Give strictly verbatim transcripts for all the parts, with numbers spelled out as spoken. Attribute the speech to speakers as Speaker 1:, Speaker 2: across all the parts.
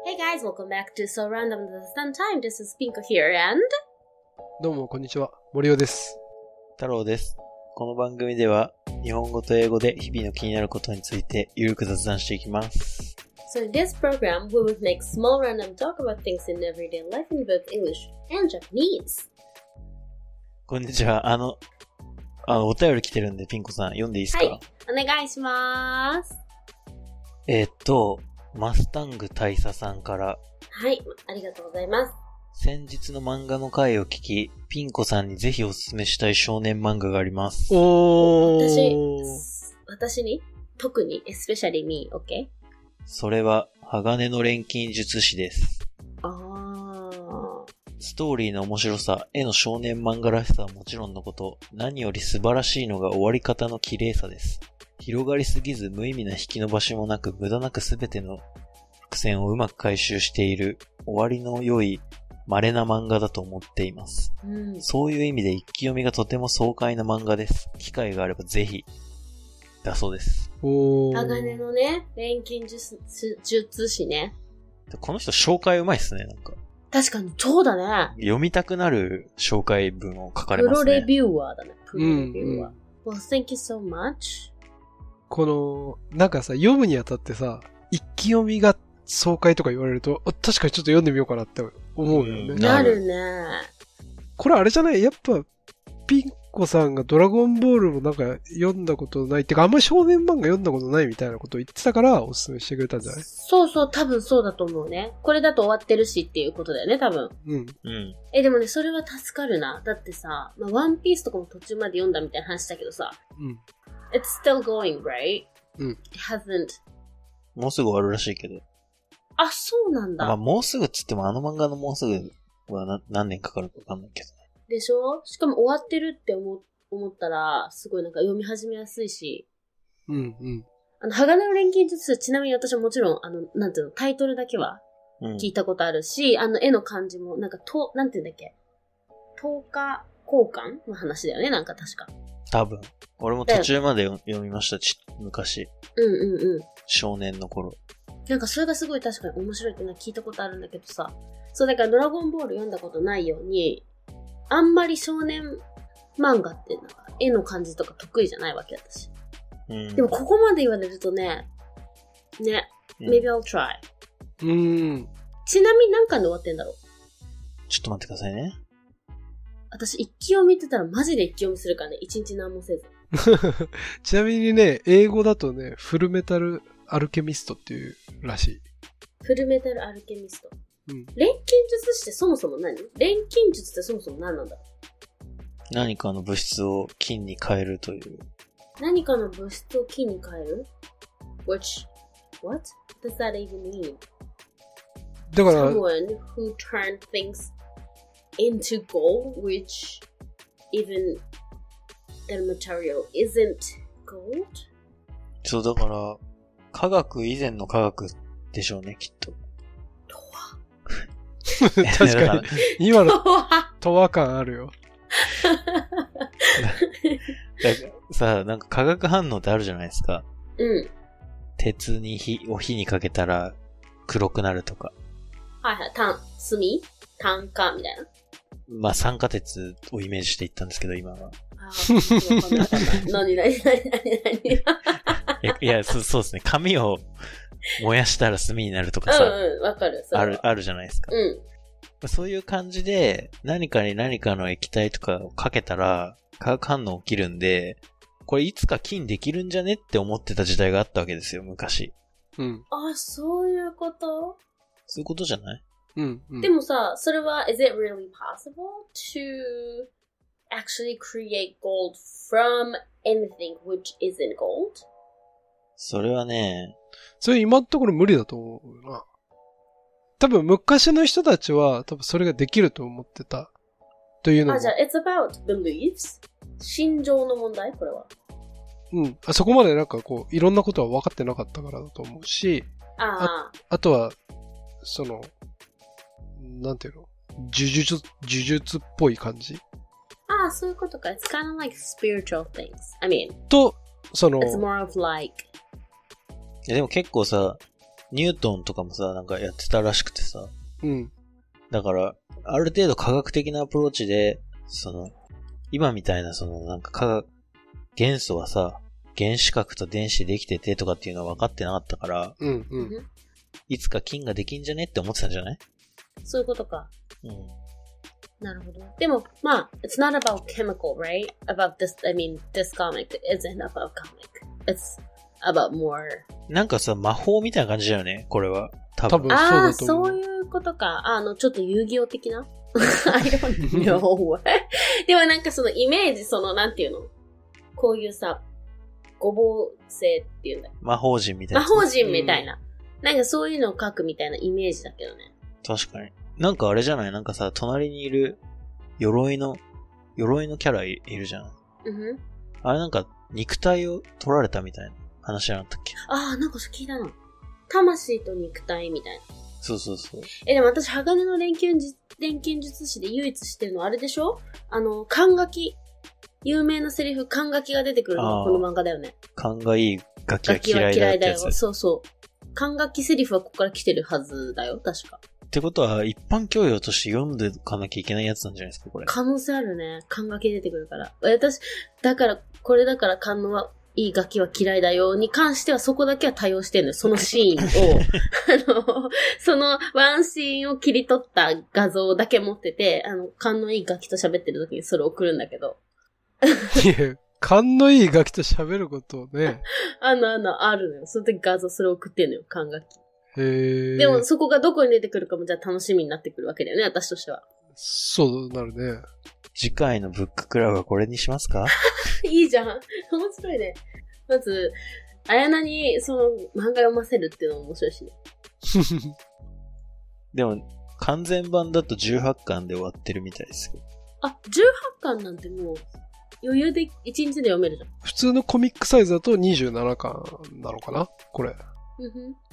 Speaker 1: Hey guys, welcome back to So Random the Sun Time. This is Pinko here and...
Speaker 2: どうもこんにちは、森尾です。
Speaker 3: 太郎です。この番組では日本語と英語で日々の気になることについてゆるく雑談していきます。
Speaker 1: So in this program, we will make small random talk about things in everyday life in both English and Japanese.
Speaker 3: こんにちは。あの、あの、お便り来てるんでピンコさん読んでいいですか？
Speaker 1: はい、お願いします。
Speaker 3: えー、っと、マスタング大佐さんから。
Speaker 1: はい、ありがとうございます。
Speaker 3: 先日の漫画の回を聞き、ピンコさんにぜひおすすめしたい少年漫画があります。
Speaker 2: おー。
Speaker 1: 私、私に特に especially me, OK?
Speaker 3: それは、鋼の錬金術師です。
Speaker 1: あー。
Speaker 3: ストーリーの面白さ、絵の少年漫画らしさはもちろんのこと、何より素晴らしいのが終わり方の綺麗さです。広がりすぎず無意味な引き伸ばしもなく無駄なくすべての伏線をうまく回収している終わりの良い稀な漫画だと思っています、うん、そういう意味で一気読みがとても爽快な漫画です。機会があればぜひだそうです。
Speaker 2: おー。
Speaker 1: 鋼のね、錬金術師ね。
Speaker 3: この人紹介うまいっすね。なんか
Speaker 1: 確かにそうだね。
Speaker 3: 読みたくなる紹介文を書かれますね。
Speaker 1: プロレビューアーだね。プロレビューアー、
Speaker 2: うん、
Speaker 1: Well, thank you so much.
Speaker 2: この、なんかさ、読むにあたってさ、一気読みが爽快とか言われると、確かにちょっと読んでみようかなって思うよね。
Speaker 1: うん、なるね。
Speaker 2: これあれじゃない？やっぱ、ピンコさんがドラゴンボールもなんか読んだことないってか、あんまり少年漫画読んだことないみたいなことを言ってたからおすすめしてくれたんじゃない？
Speaker 1: そうそう、多分そうだと思うね。これだと終わってるしっていうことだよね、多分。
Speaker 2: うん。
Speaker 3: うん。
Speaker 1: え、でもね、それは助かるな。だってさ、まあ、ワンピースとかも途中まで読んだみたいな話だけどさ。
Speaker 2: うん。
Speaker 1: It's still going, right?
Speaker 2: うん。
Speaker 1: It hasn't.
Speaker 3: もうすぐ終わるらしいけど。
Speaker 1: あ、そうなんだ。
Speaker 3: まあ、もうすぐっつってもあの漫画のもうすぐはな何年かかるかわかんないけどね。
Speaker 1: でしょ？しかも終わってるって思、思ったら、すごいなんか読み始めやすいし。
Speaker 2: うんうん。
Speaker 1: あの、鋼の錬金術師、ちなみに私はもちろん、あの、なんていうの、タイトルだけは聞いたことあるし、うん、あの、絵の感じも、なんか、と、なんていうんだっけ、とおか交換の話だよね、なんか確か。
Speaker 3: 多分。俺も途中まで読みました、ち昔。
Speaker 1: うんうんうん。
Speaker 3: 少年の頃。
Speaker 1: なんかそれがすごい確かに面白いってのは聞いたことあるんだけどさ。そう、だからドラゴンボール読んだことないように、あんまり少年漫画ってなんか絵の感じとか得意じゃないわけ私。うん、でもここまで言われるとね、ね、うん、maybe I'll try。
Speaker 2: うーん。
Speaker 1: ちなみに何巻で終わってんだろう？
Speaker 3: ちょっと待ってくださいね。
Speaker 1: 私一気読みって言ったらマジで一気読みするからね、一日何もせず。
Speaker 2: ちなみにね、英語だとね、フルメタルアルケミストっていうらしい。
Speaker 1: フルメタルアルケミスト。
Speaker 2: うん。
Speaker 1: 錬金術師ってそもそも何？錬金術ってそもそも何なんだろう？
Speaker 3: 何かの物質を金に変えるという。
Speaker 1: 何かの物質を金に変える？ Which, what does that even mean?
Speaker 2: だから、
Speaker 1: Someone who turned things into gold, which even the material isn't gold?
Speaker 3: そう、だから、科学以前の科学でしょうね、きっと。
Speaker 1: とは
Speaker 2: 確かに、今のとわ感あるよ。
Speaker 3: だからさ、なんか化学反応ってあるじゃないですか。
Speaker 1: うん。
Speaker 3: 鉄に火を火にかけたら黒くなるとか。
Speaker 1: はいはい、炭、炭炭化みたいな。
Speaker 3: まあ酸化鉄をイメージしていったんですけど、今は。
Speaker 1: ああ、何何何何何
Speaker 3: いや、いやそ、そうですね。紙を燃やしたら炭になるとかさ。
Speaker 1: うんうん、わかる。
Speaker 3: ある、あるじゃないですか。
Speaker 1: うん。
Speaker 3: そういう感じで、何かに何かの液体とかをかけたら、化学反応起きるんで、これいつか金できるんじゃねって思ってた時代があったわけですよ、昔。
Speaker 2: うん。
Speaker 1: あ、そういうこと？
Speaker 3: そういうことじゃない？
Speaker 2: うん、うん。
Speaker 1: でもさ、それは、is it really possible to actually create gold from anything which isn't gold?
Speaker 3: それはね、
Speaker 2: それ今のところ無理だと思うな。多分昔の人たちは多分それができると思ってたというのも。
Speaker 1: あ、じゃあ it's about beliefs? 心情の問題これは。
Speaker 2: うん。あそこまでなんかこういろんなことは分かってなかったからだと思うし、
Speaker 1: あ
Speaker 2: あ、あとはそのなんていうの、呪術呪術っぽい感じ。
Speaker 1: ああ、そういうことか。It's kind of like spiritual things. I mean,
Speaker 2: とその
Speaker 1: it's more of like
Speaker 3: いやでも結構さ、 ニュートンとかもさ、なんかやってたらしくてさ。
Speaker 2: うん。
Speaker 3: だから、ある程度科学的なアプローチで、その、今みたいなそのなんか科学、元素はさ、原子核と電子でできててとかっていうのは分かってなかったから、
Speaker 2: うんうん。
Speaker 3: いつか金ができんじゃねって思ってたんじゃない？
Speaker 1: そういうことか。
Speaker 3: うん。
Speaker 1: なるほど。でも、まあ、it's not about chemical, right? About this, I mean, this comic isn't about comic. It's about more.
Speaker 3: なんかさ、魔法みたいな感じだよね、これは。多分。
Speaker 2: 多分そうだと思う。
Speaker 1: ああ、そういうことか。あの、ちょっと遊戯王的なI don't know. でもなんかそのイメージ、その、なんていうの？こういうさ、ごぼう星っていうんだよ。
Speaker 3: 魔法陣みたいな。
Speaker 1: 魔法陣みたいな、うん。なんかそういうのを描くみたいなイメージだけどね。
Speaker 3: 確かに。なんかあれじゃない？なんかさ、隣にいる鎧の、鎧のキャラいるじゃん。
Speaker 1: うん。
Speaker 3: あれなんか肉体を取られたみたいな話じゃなかったっけ？
Speaker 1: ああ、なんかそれ聞いたな。魂と肉体みたいな。
Speaker 3: そうそうそう。
Speaker 1: え、でも私、鋼の錬金術、錬金術師で唯一知ってるのはあれでしょ？あの、勘書き。有名なセリフ、勘書きが出てくるのがこの漫画だよね。
Speaker 3: 勘がいいガキは嫌いだってやつ。
Speaker 1: ガキは嫌いだよ。そうそう。勘書きセリフはここから来てるはずだよ、確か。
Speaker 3: ってことは、一般教養として読んでかなきゃいけないやつなんじゃないですか、これ。
Speaker 1: 可能性あるね。勘書き出てくるから。私、だから、これだから勘のはいいガキは嫌いだよに関してはそこだけは対応してるのよ。そのシーンを。あの、そのワンシーンを切り取った画像だけ持ってて、あの、勘のいいガキと喋ってる時にそれを送るんだけど。
Speaker 2: いや、勘のいいガキと喋ることをね。
Speaker 1: あの、あの、あるのよ。その時画像それを送ってんのよ、勘書き。
Speaker 2: へー。
Speaker 1: でもそこがどこに出てくるかもじゃあ楽しみになってくるわけだよね、私としては。
Speaker 2: そうなるね。
Speaker 3: 次回のブッククラブはこれにしますか？
Speaker 1: いいじゃん。面白いね。まず、あやなにその漫画読ませるっていうのも面白いしね。
Speaker 3: でも、完全版だとじゅうはちかんで終わってるみたいですよ。
Speaker 1: あ、じゅうはちかんなんてもう余裕でいちにちで読めるじゃん。
Speaker 2: 普通のコミックサイズだとにじゅうななかんなのかなこれ。
Speaker 1: うんふん。うんふん。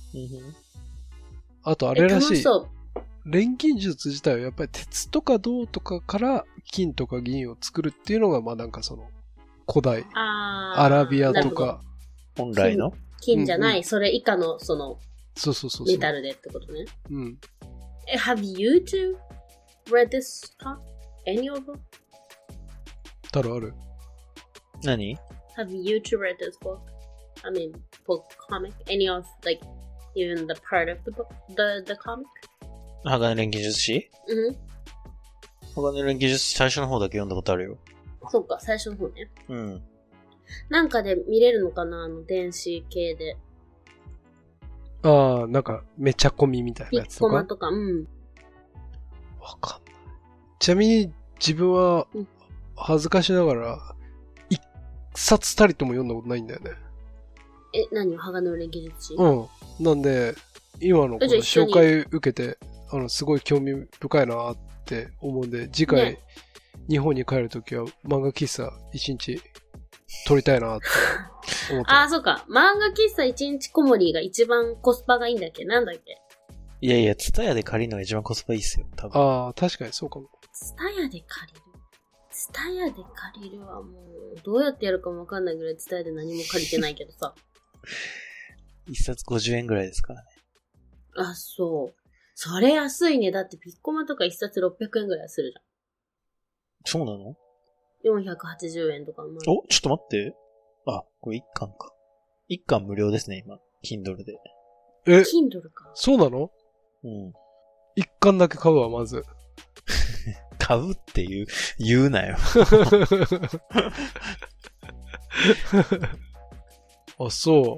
Speaker 2: あとあれらしい。
Speaker 1: そう。
Speaker 2: 錬金術自体はやっぱり鉄とか銅とかから金とか銀を作るっていうのがまあなんかその古代アラビアとか
Speaker 3: 本来の
Speaker 1: 金じゃない、うんうん、それ以下のその
Speaker 2: そうそうそう
Speaker 1: メタルでってことね。
Speaker 2: うん。
Speaker 1: え、have you two read this talk? Any of them?
Speaker 2: たるある。
Speaker 3: 何
Speaker 1: Have you two read this book? I mean, book, comic? Any of, like, even the part of the book, the, the comic?
Speaker 3: 鋼錬金術師？
Speaker 1: うん。
Speaker 3: 鋼錬金術師最初の方だけ読んだことあるよ。
Speaker 1: そうか、最初の方ね。
Speaker 3: うん。
Speaker 1: なんかで見れるのかなあの、電子系で。
Speaker 2: ああ、なんか、めちゃ込みみたいなやつとか。
Speaker 1: ピッコマとか、うん。
Speaker 2: わかんない。ちなみに、自分は、恥ずかしながら、一冊たりとも読んだことないんだよね。
Speaker 1: え、何鋼の錬金術師？
Speaker 2: うん。なんで、今のこの紹介受けて、あの、すごい興味深いなって思うんで、次回、ね、日本に帰るときは漫画喫茶一日撮りたいなって思って。
Speaker 1: ああ、そうか。漫画喫茶一日こもりが一番コスパがいいんだっけ？なんだっけ？
Speaker 3: いやいや、ツタヤで借りるのが一番コスパいいっすよ、多分。
Speaker 2: ああ、確かにそうかも。
Speaker 1: ツタヤで借りる？ツタヤで借りるはもう、どうやってやるかもわかんないぐらいツタヤで何も借りてないけどさ。
Speaker 3: 一冊ごじゅうえんぐらいですからね。
Speaker 1: あ、そう。それ安いね。だってピッコマとか一冊ろっぴゃくえんぐらいするじゃん。
Speaker 3: そうなの？
Speaker 1: よんひゃくはちじゅうえんとか。まあ、
Speaker 3: お、ちょっと待って。あ、これ一巻か。一巻無料ですね、今。Kindle で。
Speaker 2: え
Speaker 1: Kindle か。
Speaker 2: そうなの？
Speaker 3: うん。
Speaker 2: 一巻だけ買うわ、まず。
Speaker 3: 買うって言う、言うなよ。
Speaker 2: あ、そう。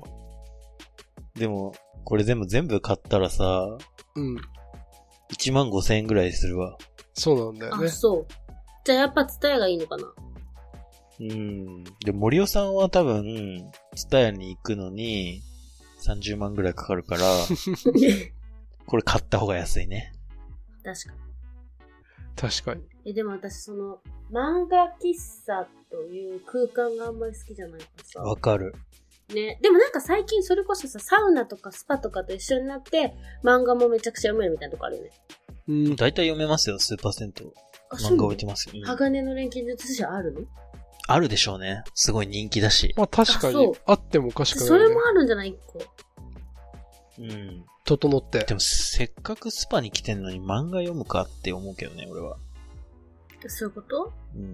Speaker 3: でも、これ全部全部買ったらさ、
Speaker 2: うん。
Speaker 3: いちまんごせんえんぐらいするわ。
Speaker 2: そうなんだよね。
Speaker 1: あ、そう。じゃあやっぱツタヤがいいのかな？
Speaker 3: うん。で、森尾さんは多分、ツタヤに行くのに、さんじゅうまんぐらいかかるから、これ買った方が安いね。
Speaker 1: 確かに。
Speaker 2: 確かに。
Speaker 1: え、でも私その、漫画喫茶という空間があんまり好きじゃないからさ。
Speaker 3: わかる。
Speaker 1: ね。でもなんか最近それこそさ、サウナとかスパとかと一緒になって、漫画もめちゃくちゃ読めるみたいなとこあるよね。
Speaker 3: うん。だいたい読めますよ、スーパー銭湯。漫画置いてますよ。うん、
Speaker 1: 鋼の錬金術師あるの？
Speaker 3: あるでしょうね。すごい人気だし。
Speaker 2: まあ確かに、あってもおかしくない、ね。
Speaker 1: それもあるんじゃない？一個。
Speaker 3: うん。
Speaker 2: 整って。
Speaker 3: でもせっかくスパに来てんのに漫画読むかって思うけどね、俺は。
Speaker 1: そういうこと？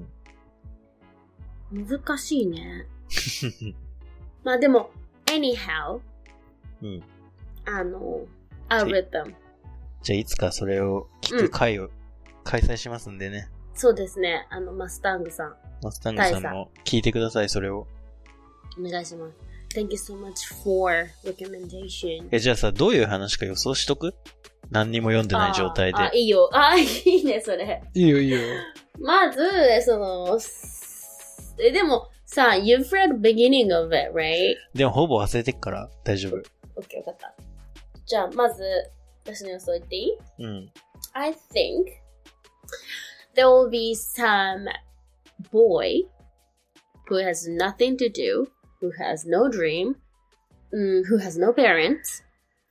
Speaker 3: うん。
Speaker 1: 難しいね。まあでも、anyhow。
Speaker 3: うん。
Speaker 1: あの、I'll read them。
Speaker 3: じゃあいつかそれを聞く会を開催しますんでね。
Speaker 1: うん、そうですね。あの、マスタングさん。
Speaker 3: マスタングさんも聞いてください、それを。
Speaker 1: お願いします。Thank you so much for recommendation.
Speaker 3: え、じゃあさ、どういう話か予想しとく？何にも読んでない状態で。
Speaker 1: あ、あいいよ。あ、いいね、それ。
Speaker 2: いいよ、いいよ。
Speaker 1: まず、その、え、でも、さ、you've read the beginning of it, right?
Speaker 3: でもほぼ忘れてっから大丈夫。
Speaker 1: OK、わかった。じゃあ、まず、私の予想言っていい？
Speaker 3: うん。
Speaker 1: I think there will be some boy who has nothing to do, who has no dream, um, who has no parents,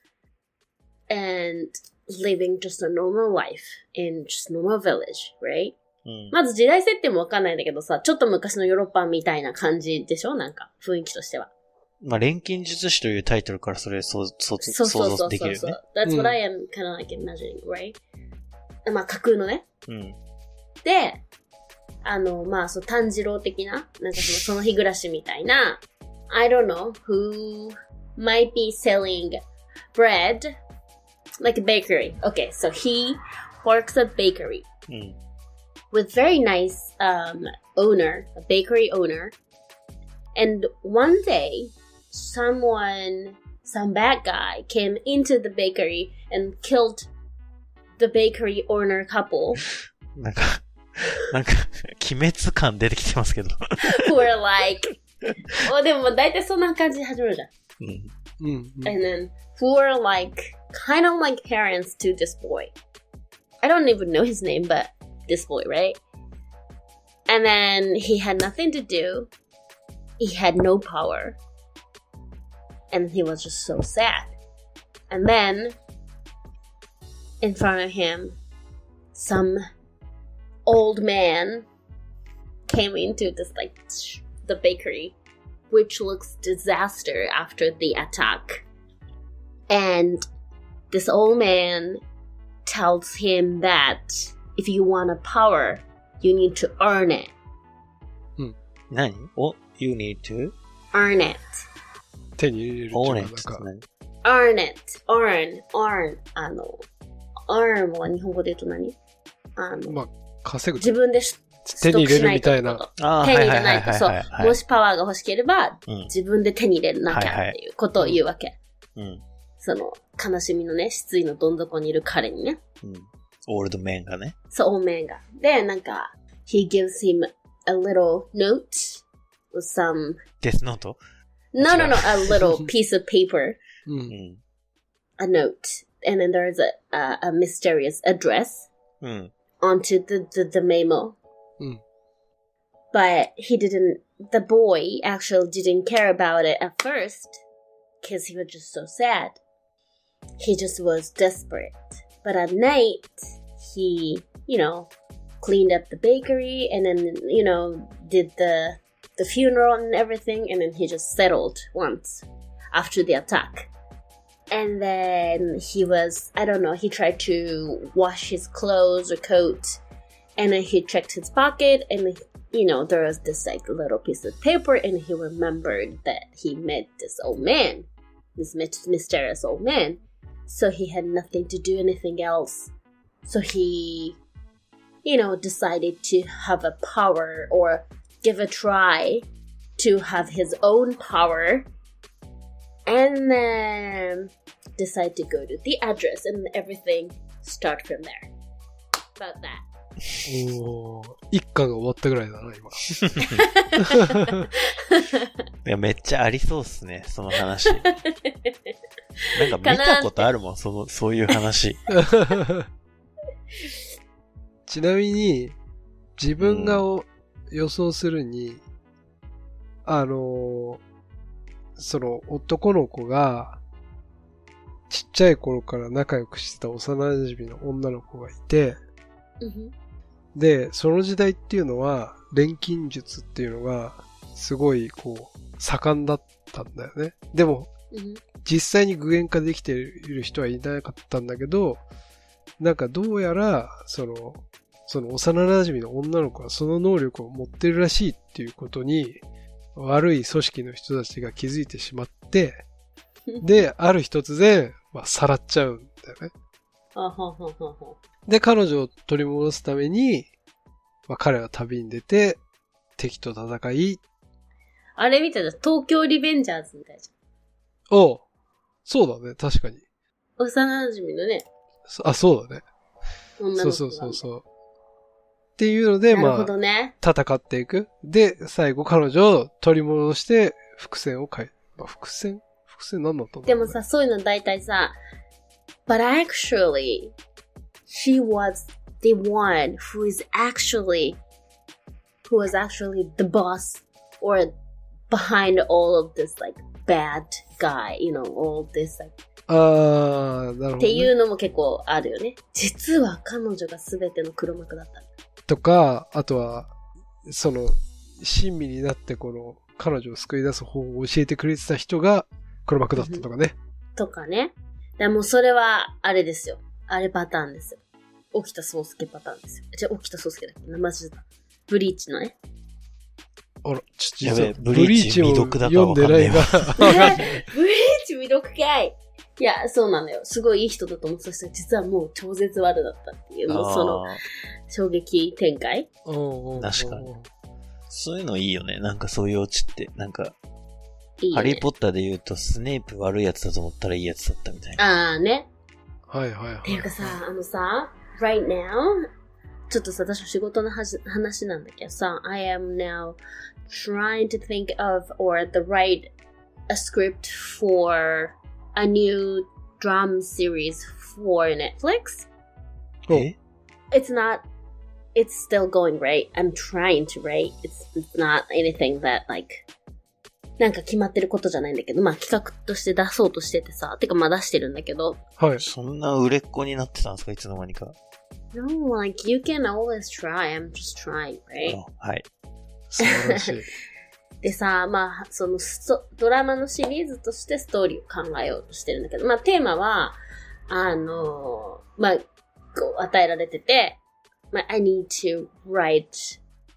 Speaker 1: and living just a normal life in just a normal village, right?うん、まず時代設定もわかんないんだけどさ、ちょっと昔のヨーロッパみたいな感じでしょ？なんか、雰囲気としては。
Speaker 3: まあ、錬金術師というタイトルからそれ想像できるよね。そうそうそうそう。
Speaker 1: That's what I am kind of like imagining, right? まあ、架空のね。
Speaker 3: うん。
Speaker 1: で、あの、まあ、そう、炭治郎的な、なんかその、その日暮らしみたいな、I don't know, who might be selling bread, like a bakery. Okay, so he works at bakery.
Speaker 3: うん。
Speaker 1: With very nice um, owner, a bakery owner. And one day, someone, some bad guy came into the bakery and killed the bakery owner couple.
Speaker 3: なんか、なんか、鬼滅感出てきてますけど。
Speaker 1: who were like, お、でもだいたいそんな感じで始まるじゃん。
Speaker 2: うん。うん。
Speaker 1: And then, who were like, kind of like parents to this boy. I don't even know his name, but this boy, right? And then he had nothing to do. He had no power. And he was just so sad. And then, in front of him, some old man came into this, like, the bakery, which looks disaster after the attack. And this old man tells him that if you want a power, you need to earn it.
Speaker 3: うん。何？お、you need to?
Speaker 1: Earn it.
Speaker 2: 手に入れるっていうのはなんか。
Speaker 1: earn it. earn, earn. あの、earn は日本語で言うと何？あの、
Speaker 2: まあ、稼ぐ。
Speaker 1: 自分で
Speaker 2: 手に入れるみたいな。
Speaker 1: 手に入れないと、そう。もしパワーが欲しければ、うん、自分で手に入れなきゃっていうことを言うわけ。
Speaker 3: うん。
Speaker 1: その、悲しみのね、失意のどん底にいる彼にね。
Speaker 3: うん。オールドメンがね。
Speaker 1: そう、オールドメンが。で、なんか、he gives him a little note with some...
Speaker 3: Death note?
Speaker 1: No, no, no, a little piece of paper.
Speaker 2: うん。
Speaker 1: A note. And then there's a, a, a mysterious address
Speaker 3: うん。
Speaker 1: onto the, the, the memo.
Speaker 2: うん。
Speaker 1: But he didn't, the boy actually didn't care about it at first because he was just so sad. He just was desperate. But at night, he, you know, cleaned up the bakery and then, you know, did the the funeral and everything. And then he just settled once after the attack. And then he was, I don't know, he tried to wash his clothes or coat. And then he checked his pocket and, you know, there was this like little piece of paper. And he remembered that he met this old man, this mysterious old man. So he had nothing to do anything else. So he, you know, decided to have a power or give a try to have his own power. And then decide to go to the address and everything start from there. About that.
Speaker 2: おー、一巻が終わったぐらいだな、今。
Speaker 3: いや、めっちゃありそうっすね、その話。なんか見たことあるもん、その、そういう話。
Speaker 2: ちなみに、自分が予想するに、うん、あの、その男の子が、ちっちゃい頃から仲良くしてた幼馴染の女の子がいて、
Speaker 1: うん
Speaker 2: で、その時代っていうのは、錬金術っていうのが、すごい、こう、盛んだったんだよね。でも、
Speaker 1: うん、
Speaker 2: 実際に具現化できている人はいなかったんだけど、なんかどうやら、その、その幼馴染の女の子はその能力を持ってるらしいっていうことに、悪い組織の人たちが気づいてしまって、で、ある日突然、まあ、さらっちゃうんだよね。
Speaker 1: はははは
Speaker 2: で、彼女を取り戻すために、まあ、彼は旅に出て、敵と戦い。
Speaker 1: あれみたいな、東京リベンジャーズみたいじ
Speaker 2: ゃん。おう。そうだね、確かに。
Speaker 1: 幼馴染のね。
Speaker 2: あ、そうだね。
Speaker 1: 女の子が
Speaker 2: そうそうそうそう。っていうので、まあ、
Speaker 1: ね、
Speaker 2: 戦っていく。で、最後彼女を取り戻して、伏線を変え、まあ、伏線伏線何だったんだろう、ね、
Speaker 1: でもさ、そういうの大体さ、But actually, she was the one who is actually, who was actually the boss or behind all of this like bad guy, you know, all this like.
Speaker 2: あー、なるほど、ね。
Speaker 1: っていうのも結構あるよね。実は彼女が全ての黒幕だった。
Speaker 2: とか、あとは、その、親身になってこの、彼女を救い出す方法を教えてくれてた人が黒幕だったとかね。
Speaker 1: とかね。でもそれは、あれですよ。あれパターンですよ。沖田壮介パターンですよ。じゃあ、沖田壮介だっけ名前知った。ブリーチのね。
Speaker 2: あら、ちょっと
Speaker 3: やべえ、ブリーチ未読だか
Speaker 2: 読んでないが。
Speaker 1: ブリーチ未読かい。いや、そうなんだよ。すごいいい人だと思ってた人が、実はもう超絶悪だったっていう、もうその、衝撃展開。
Speaker 3: 確かに。そういうのいいよね。なんかそういうオチって。なんか、
Speaker 1: いいね、
Speaker 3: ハリーポッターで言うと、スネープ悪いやつだと思ったらいいやつだったみたいな。
Speaker 1: ああね。
Speaker 2: はいはいはい。
Speaker 1: っていうかさ、あのさ、right now, ちょっとさ、私の仕事の話なんだけどさ、I am now trying to think of or the write a script for a new drama series for Netflix.
Speaker 3: え
Speaker 1: It's not, it's still going right. I'm trying to write. It's, it's not anything that like, なんか決まってることじゃないんだけど、まあ企画として出そうとしててさ、てかまあ出してるんだけど。
Speaker 2: はい。
Speaker 3: そんな売れっ子になってたんですかいつの間にか。
Speaker 1: No, like you can always try. I'm just trying, right?
Speaker 3: はい。
Speaker 2: 素晴らしい。
Speaker 1: でさ、まあ、そのドラマのシリーズとしてストーリーを考えようとしてるんだけど、まあテーマは、あの、まあ、こう与えられてて、まあ、I need to write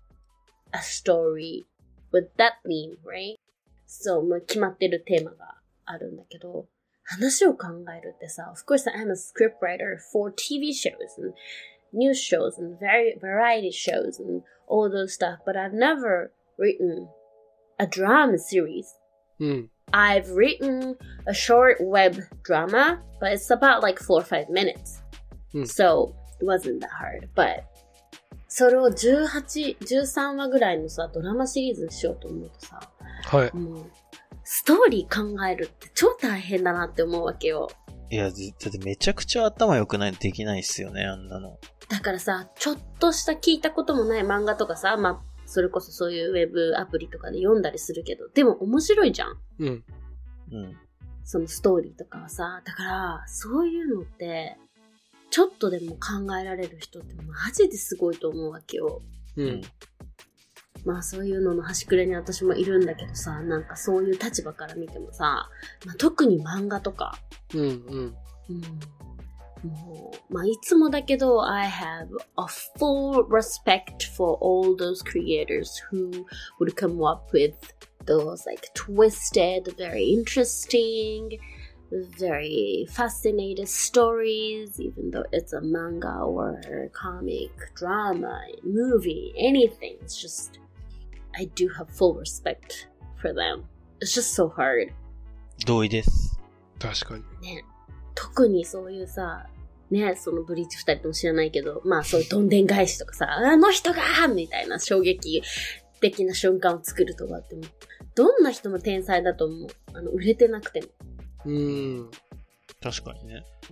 Speaker 1: a story with that theme, right? そう、まあ、決まってるテーマがあるんだけど、話を考えるってさ、of course I'm a scriptwriter for ティーブイ shows and news shows and variety shows and all those stuff, but I've never written a drama series.
Speaker 2: うん。
Speaker 1: I've written a short web drama, but it's about like four or five minutes.
Speaker 2: うん。
Speaker 1: So it wasn't that hard, but それをじゅうはち、じゅうさんわぐらいのさ、ドラマシリーズにしようと思うとさ、
Speaker 2: はい。
Speaker 1: もう、ストーリー考えるって超大変だなって思うわけよ。
Speaker 3: いや、だってめちゃくちゃ頭良くないとできないっすよね、あんなの。
Speaker 1: だからさ、ちょっとした聞いたこともない漫画とかさ、まあ、それこそそういうウェブアプリとかで読んだりするけど、でも面白いじゃん。
Speaker 2: うん。
Speaker 3: うん。
Speaker 1: そのストーリーとかはさ、だから、そういうのって、ちょっとでも考えられる人ってマジですごいと思うわけよ。
Speaker 2: うん。
Speaker 1: まあそういうのの端くれに私もいるんだけどさ、なんかそういう立場から見てもさ、まあ、特に漫画とか。
Speaker 2: うんうん。
Speaker 1: うん、もう、まあいつもだけど、I have a full respect for all those creators who would come up with those like twisted, very interesting, very fascinating stories, even though it's a manga or a comic, drama, movie, anything. It's just, I do have full respect for them. It's just so hard.
Speaker 3: 同意です。
Speaker 2: 確かに。
Speaker 1: ね。特にそういうさ、ね、そのブリーチ二人とも知らないけど、まあそういうどんでん返しとかさ、あの人がみたいな衝撃的な瞬間を作るとかっても、どんな人も天才だと思う。あの、売れてなくても。
Speaker 2: うーん。
Speaker 3: 確かにね。
Speaker 1: うん。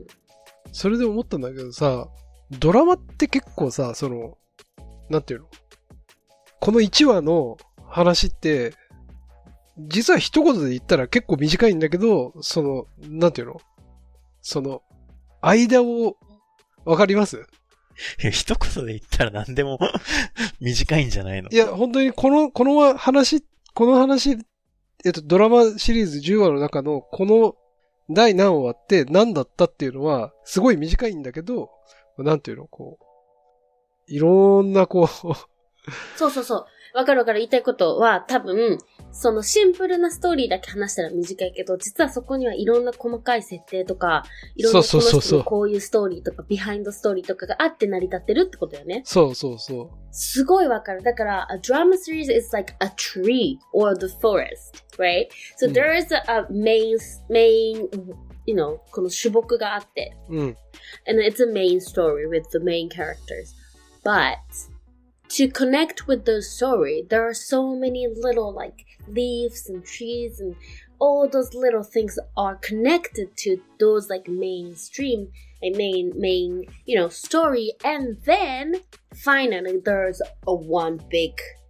Speaker 2: それで思ったんだけどさ、ドラマって結構さ、その、なんていうの？このいちわの話って、実は一言で言ったら結構短いんだけど、その、なんていうの？その、間を、わかります？
Speaker 3: 一言で言ったら何でも短いんじゃないの？
Speaker 2: いや、本当にこの、この話、この話、 えっと、ドラマシリーズじゅうわの中のこの第何話って何だったっていうのは、すごい短いんだけど、なんていうの、こう、いろんなこう、
Speaker 1: そうそうそう。わかるわかる。言いたいことは多分、そのシンプルなストーリーだけ話したら短いけど、実はそこにはいろんな細かい設定とか、いろんなこの人のこういうストーリーとか、ビハインドストーリーとかがあって成り立ってるってことよね。
Speaker 2: そうそうそう。
Speaker 1: すごいわかる。だから、a drama series is like a tree or the forest, right? So there is a, a main, main, you know, この主木があって。
Speaker 2: うん。
Speaker 1: And it's a main story with the main characters. But, to connect with the story, there are so many little like leaves and trees and all those little things are connected to those like mainstream, a main, main, you know, story. And then finally there's a one big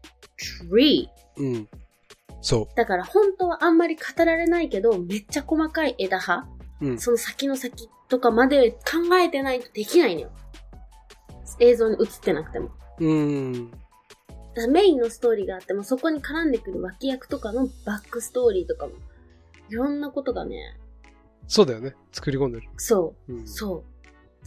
Speaker 1: tree.
Speaker 2: うん。そう。
Speaker 1: だから本当はあんまり語られないけど、めっちゃ細かい枝葉、うん、その先の先とかまで考えてないとできないのよ。映像に映ってなくても。
Speaker 2: うーん。
Speaker 1: メインのストーリーがあっても、そこに絡んでくる脇役とかのバックストーリーとかも、いろんなことがね。
Speaker 2: そうだよね。作り込んでる。
Speaker 1: そう。うん、そう。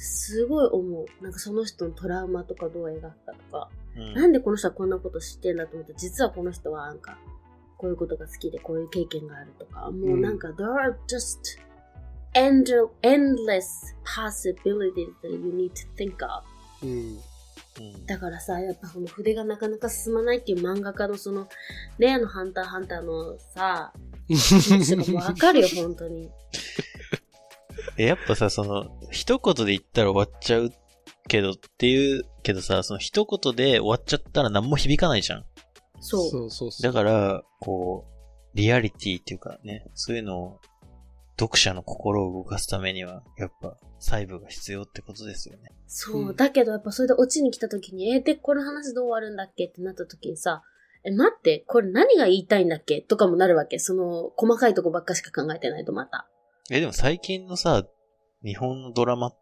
Speaker 1: すごい思う。なんかその人のトラウマとかどう描くかとか、うん、なんでこの人はこんなこと知ってんだと思ったら、実はこの人はなんか、こういうことが好きでこういう経験があるとか、もうなんか、うん、there are just end, endless possibilities that you need to think of.
Speaker 2: うん
Speaker 1: だからさ、やっぱこの筆がなかなか進まないっていう漫画家のその、例のハンターハンターのさ、わかるよ、本当に。
Speaker 3: え、やっぱさ、その、一言で言ったら終わっちゃうけどっていう、けどさ、その一言で終わっちゃったら何も響かないじゃん。
Speaker 1: そう。
Speaker 2: そうそうそう。
Speaker 3: だから、こう、リアリティっていうかね、そういうのを、読者の心を動かすためには、やっぱ、細部が必要ってことですよね。
Speaker 1: そう。うん、だけど、やっぱそれでオチに来た時に、え、で、この話どう終わるんだっけってなった時にさ、え、待って、これ何が言いたいんだっけとかもなるわけ。その、細かいとこばっかしか考えてないとまた。
Speaker 3: え、でも最近のさ、日本のドラマって、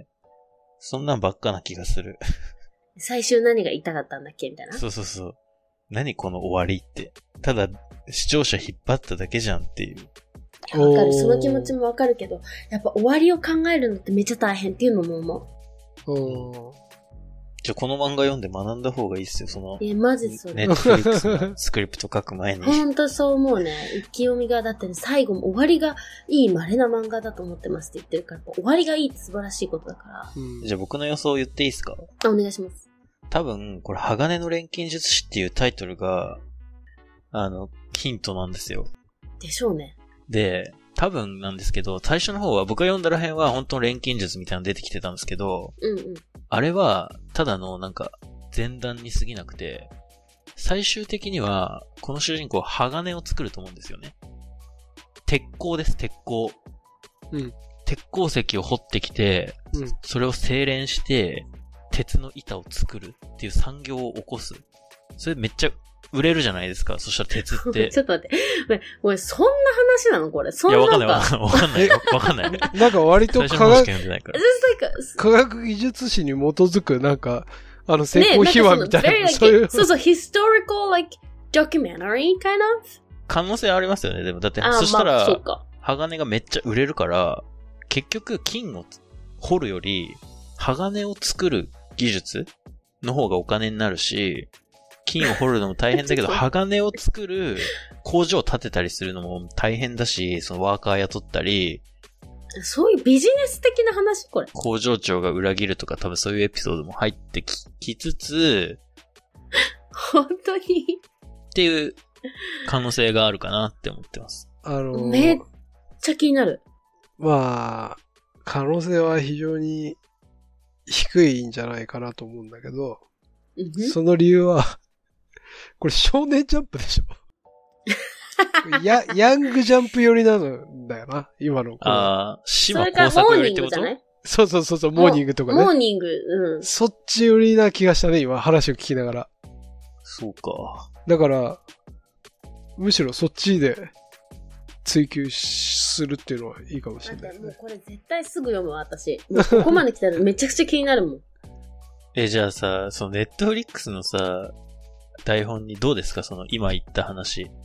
Speaker 3: そんなんばっかな気がする。
Speaker 1: 最終何が言いたかったんだっけみたいな。
Speaker 3: そうそうそう。何この終わりって。ただ、視聴者引っ張っただけじゃんっていう。
Speaker 1: わかる。その気持ちもわかるけど、やっぱ終わりを考えるのってめっちゃ大変っていうのも思
Speaker 2: う。お
Speaker 3: じゃあこの漫画読んで学んだ方がいいっすよ、その。
Speaker 1: え、マジそれ。
Speaker 3: ネットフリックスのスクリプト書く前に。
Speaker 1: ほんとそう思うね。意気読みが、だってね、最後も終わりがいい稀な漫画だと思ってますって言ってるから、終わりがいいって素晴らしいことだから。
Speaker 3: うん、じゃあ僕の予想言っていいですか？
Speaker 1: あ、お願いします。
Speaker 3: 多分、これ、鋼の錬金術師っていうタイトルが、あの、ヒントなんですよ。
Speaker 1: でしょうね。
Speaker 3: で、多分なんですけど、最初の方は僕が読んだら辺は本当の錬金術みたいなの出てきてたんですけど、
Speaker 1: うんうん、
Speaker 3: あれはただのなんか前段に過ぎなくて、最終的にはこの主人公は鋼を作ると思うんですよね。鉄鋼です、鉄鋼。
Speaker 2: うん、
Speaker 3: 鉄鉱石を掘ってきて、うん、それを精錬して鉄の板を作るっていう産業を起こす。それめっちゃ売れるじゃないですか。そしたら鉄って。
Speaker 1: ちょっと待って。おい、そんな話なのこれ。そんな。
Speaker 3: いや、わかんない、わかんない。わかんない。
Speaker 2: なんか割と科学、科学技術史に基づく、なんか、あの、成功秘話みたいな。
Speaker 1: ね、そういう。そうそう、historical, like, documentary, kind of?
Speaker 3: 可能性ありますよね。でも、だって、そしたら、まあ、鋼がめっちゃ売れるから、結局、金を掘るより、鋼を作る技術の方がお金になるし、金を掘るのも大変だけど、鋼を作る工場を建てたりするのも大変だし、そのワーカー雇ったり。
Speaker 1: そういうビジネス的な話これ。
Speaker 3: 工場長が裏切るとか多分そういうエピソードも入ってき、きつつ、
Speaker 1: 本当に
Speaker 3: っていう可能性があるかなって思ってます。
Speaker 2: あのー、
Speaker 1: めっちゃ気になる。
Speaker 2: まあ、可能性は非常に低いんじゃないかなと思うんだけど、うん、その理由は、これ少年ジャンプでしょや、ヤングジャンプ寄りなんだよな、今の。
Speaker 3: ああ、島工作寄りってこと？
Speaker 2: そうそうそうそう、モーニングとかね。
Speaker 1: モーニング、うん。
Speaker 2: そっち寄りな気がしたね、今、話を聞きながら。
Speaker 3: そうか。
Speaker 2: だから、むしろそっちで追求するっていうのはいいかもしれない、ね。
Speaker 1: もうこれ絶対すぐ読むわ、私。もうここまで来たらめちゃくちゃ気になるもん。
Speaker 3: え、じゃあさ、そのネットフリックスのさ、台本にどうですかその今言った話。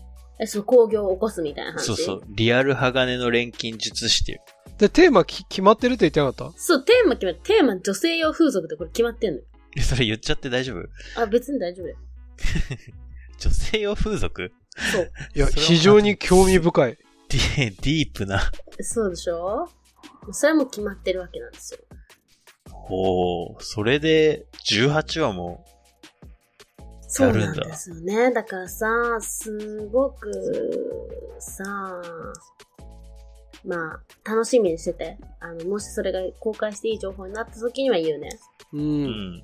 Speaker 1: え、そう、工業を起こすみたいな話。
Speaker 3: そうそう。リアル鋼の錬金術師っていう。
Speaker 2: で、テーマき決まってるって言ってなかった？
Speaker 1: そう、テーマ決まって、テーマ女性用風俗ってこれ決まってんのよ。
Speaker 3: え、それ言っちゃって大丈夫？
Speaker 1: あ、別に大丈夫だよ。
Speaker 3: 女性用風俗？
Speaker 1: そう。
Speaker 2: いや、非常に興味深い。
Speaker 3: ディ、ディープな。
Speaker 1: そうでしょ？それも決まってるわけなんですよ。
Speaker 3: おー、それでじゅうはちわもやるんだ。
Speaker 1: そうなんですよね。だからさ、すごくさ、まあ、楽しみにしてて。あの、もしそれが公開していい情報になった時には言うね。
Speaker 2: うん。
Speaker 3: うん。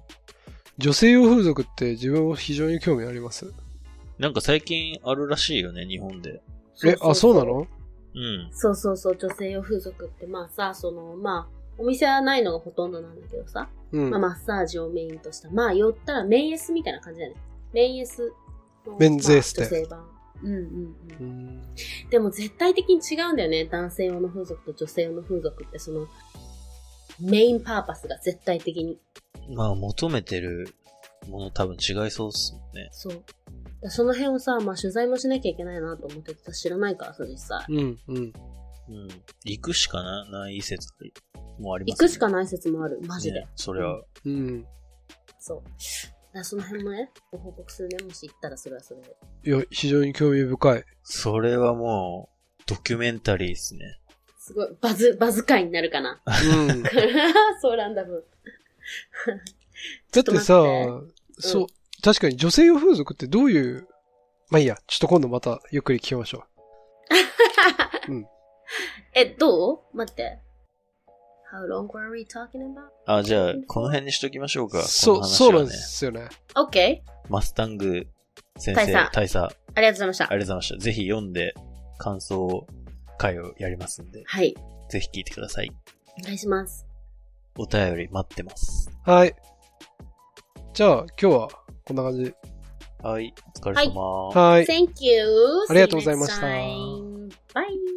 Speaker 2: 女性用風俗って自分も非常に興味あります。
Speaker 3: なんか最近あるらしいよね、日本で。
Speaker 2: え、あ、そうなの？
Speaker 3: うん。
Speaker 1: そうそうそう、女性用風俗って、まあさ、その、まあ、お店はないのがほとんどなんだけどさ、
Speaker 2: うん。
Speaker 1: まあ、マッサージをメインとした、まあ、寄ったらメンエスみたいな感じだよね。メンエスの。
Speaker 2: メンズエステ。
Speaker 1: まあ、女性版。うんうんうん。
Speaker 2: うん、
Speaker 1: でも絶対的に違うんだよね。男性用の風俗と女性用の風俗って、その、メインパーパスが絶対的に。
Speaker 3: まあ、求めてるもの多分違いそうっすもんね。
Speaker 1: そう。その辺をさ、まあ取材もしなきゃいけないなと思ってて、知らないからさ、実際。
Speaker 2: うん、うん。うん。
Speaker 3: 行くしかな、ない説もありますね。
Speaker 1: 行くしかない説もある。マジで。
Speaker 3: ね、それは。
Speaker 2: うん。
Speaker 1: そう。だからその辺もね、ご報告するね。もし行ったらそれはそれで。
Speaker 2: いや、非常に興味深い。
Speaker 3: それはもう、ドキュメンタリーですね。
Speaker 1: すごい、バズ、バズ界になるかな。
Speaker 2: うん。
Speaker 1: そうランダム。
Speaker 2: だってさ、
Speaker 1: うん、
Speaker 2: そう、確かに女性用風俗ってどういう、まあいいや、ちょっと今度またゆっくり聞きましょう。うん。
Speaker 1: え、どう？待って。How long were we talking about?
Speaker 3: あ、じゃあ、この辺にしときましょうか。
Speaker 2: そう、
Speaker 3: この話はね、
Speaker 2: そうなんですよね。
Speaker 1: OK。
Speaker 3: マスタング先生、
Speaker 1: 大佐。
Speaker 3: 大佐。
Speaker 1: ありがとうございました。
Speaker 3: ありがとうございました。ぜひ読んで、感想会をやりますんで。
Speaker 1: はい。
Speaker 3: ぜひ聞いてください。
Speaker 1: お願いします。
Speaker 3: お便り待ってます。
Speaker 2: はい。じゃあ、今日はこんな感じ。
Speaker 3: はい。お疲れ様。
Speaker 2: はい。
Speaker 1: Thank you.
Speaker 2: ありがとうございました。
Speaker 1: Bye.